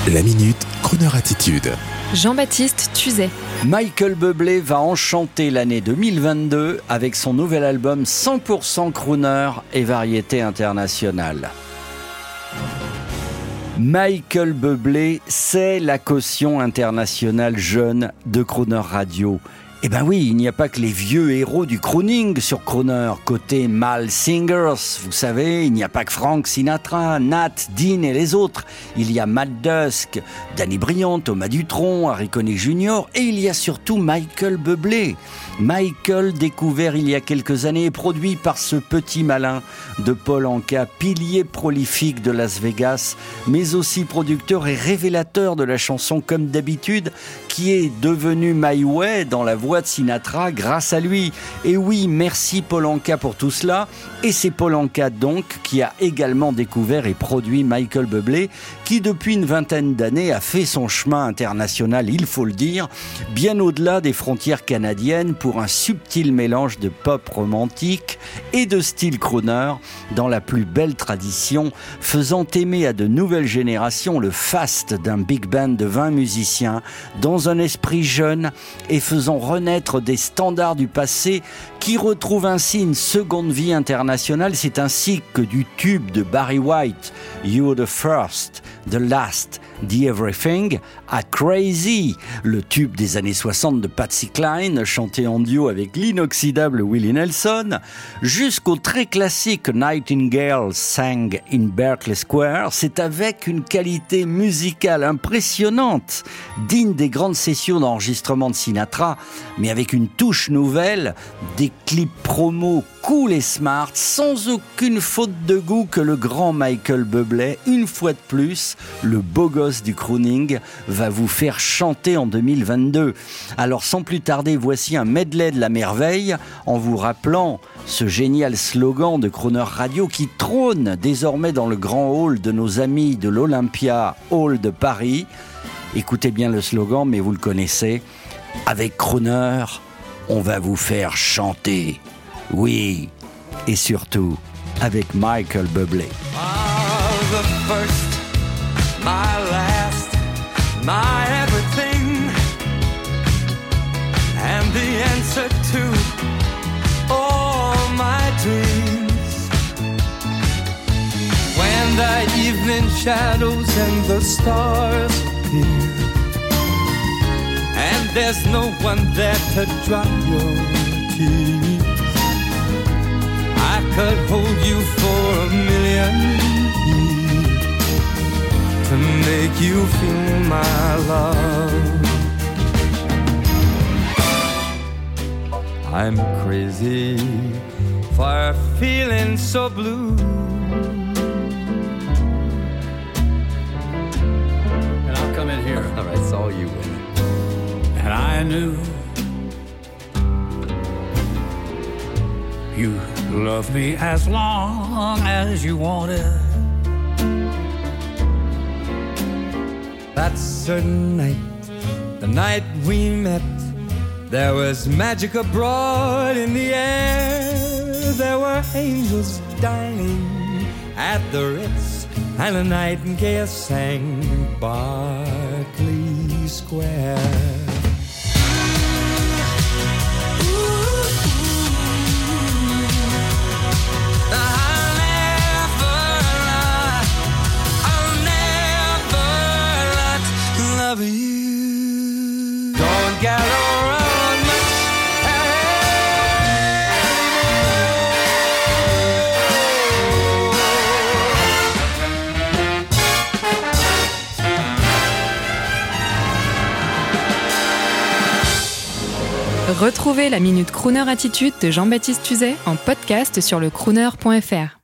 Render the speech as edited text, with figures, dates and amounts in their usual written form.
La Minute Crooner Attitude. Jean-Baptiste Tuzet. Michael Bublé va enchanter l'année 2022 avec son nouvel album 100% crooner et variété internationale. Michael Bublé, c'est la caution internationale jeune de Crooner Radio. Eh ben oui, il n'y a pas que les vieux héros du crooning sur Crooner. Côté male singers, vous savez, il n'y a pas que Frank Sinatra, Nat, Dean et les autres. Il y a Matt Dusk, Danny Bryant, Thomas Dutronc, Harry Connick Jr. et il y a surtout Michael Bublé. Michael, découvert il y a quelques années et produit par ce petit malin de Paul Anka, pilier prolifique de Las Vegas, mais aussi producteur et révélateur de la chanson Comme d'habitude, qui est devenue My Way dans la voix de Sinatra grâce à lui. Et oui, merci Paul Anka pour tout cela. Et c'est Paul Anka donc qui a également découvert et produit Michael Bublé, qui depuis une vingtaine d'années a fait son chemin international, il faut le dire, bien au-delà des frontières canadiennes pour un subtil mélange de pop romantique et de style crooner dans la plus belle tradition, faisant aimer à de nouvelles générations le faste d'un big band de 20 musiciens dans un esprit jeune et faisant renaître des standards du passé qui retrouvent ainsi une seconde vie internationale. C'est ainsi que du tube de Barry White, You're the First, The Last, The Everything, à Crazy, le tube des années 60 de Patsy Cline, chanté en duo avec l'inoxydable Willie Nelson, jusqu'au très classique Nightingale Sang in Berkeley Square. C'est avec une qualité musicale impressionnante, digne des grandes sessions d'enregistrement de Sinatra, mais avec une touche nouvelle, des clips promo cool et smart, sans aucune faute de goût, que le grand Michael Bublé, une fois de plus, le beau gosse du crooning, va vous faire chanter en 2022. Alors sans plus tarder, voici un medley de la merveille, en vous rappelant ce génial slogan de Crooner Radio qui trône désormais dans le grand hall de nos amis de l'Olympia Hall de Paris. Écoutez bien le slogan, mais vous le connaissez. Avec Crooner, on va vous faire chanter. Oui, et surtout avec Michael Bublé. The first, my last, my everything, and the answer to all my dreams. When the evening shadows and the stars appear, and there's no one there to dry your tears, I could hold you for a million years to make you feel my love. I'm crazy for feeling so blue, and I'll come in here. All right, it's all you, Willie. And I knew you loved me as long as you wanted. That certain night, the night we met, there was magic abroad in the air. There were angels dining at the Ritz, and a nightingale sang in Berkeley Square. You don't get around much Retrouvez la Minute Crooner Attitude de Jean-Baptiste Tuzet en podcast sur le crooner.fr.